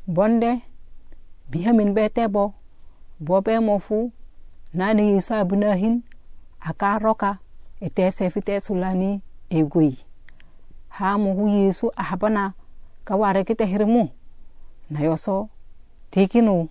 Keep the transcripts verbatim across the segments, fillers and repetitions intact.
bonde bihamin bete bo bobe mofu nani Yesu abunahin aka roka ete sefite sulani egoi hamu hu Yesu ahabana kaware kite hirmu na yoso tikinu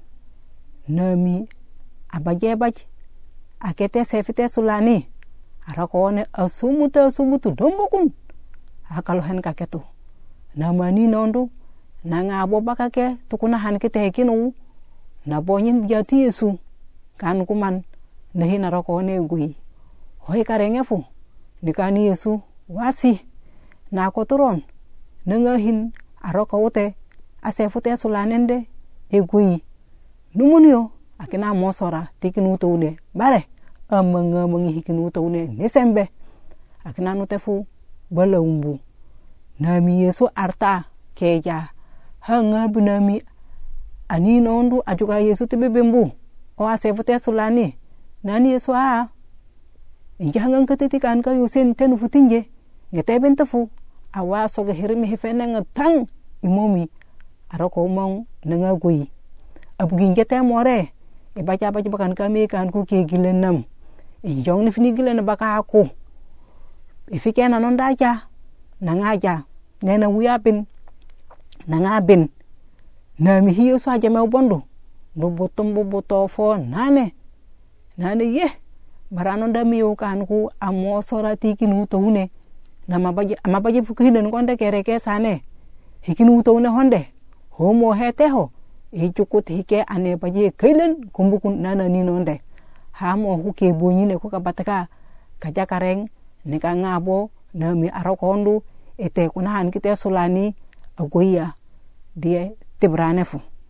nami abaje baj akete sefite sulani arakone asumuta asumutu dombokun akalo hen kaketu namani nondu nanga abo bakake tukuna han kite hekinu na bonyin jati Yesu kan kuman nahina rakone gui hoi karengefu nikani Yesu wasi na kotoron nangahin aroko wote asefute sulanende egui numunyo akina mosora tikinu tone bare amanga mangi hikinu tone nesembe akina nutefu bala umbu nami Yesu arta keja hanga bunami ani nondu ajuga Yesu tebebembu o asefute sulani nani Yesu a injangan ketetikan ka yusen tenu futinje ngeteben tefu awa soge hirmi hefena ngatang imomi aroko mong nanga gui abugin jete more e baca baca bakan kami kan ku ke gilenam injong ni fini gilen baka aku ifike na nonda ja nangaja nena wiyapin nangabin na mi hiyo so aja me bondo do botom bo boto fo nane nane ye barano ndamiyo kan ku amo sora tikinu tone na mabaje mabaje fukine ngonde kereke sane hikinu tone honde homo heteho e jukut hike ane baje kailen kumbukun nana ni nonde hamo huke bonyine ko kabataka kaja kareng ne ka ngabo na mi arokondu ete kunahan kite sulani agoya die tibranefu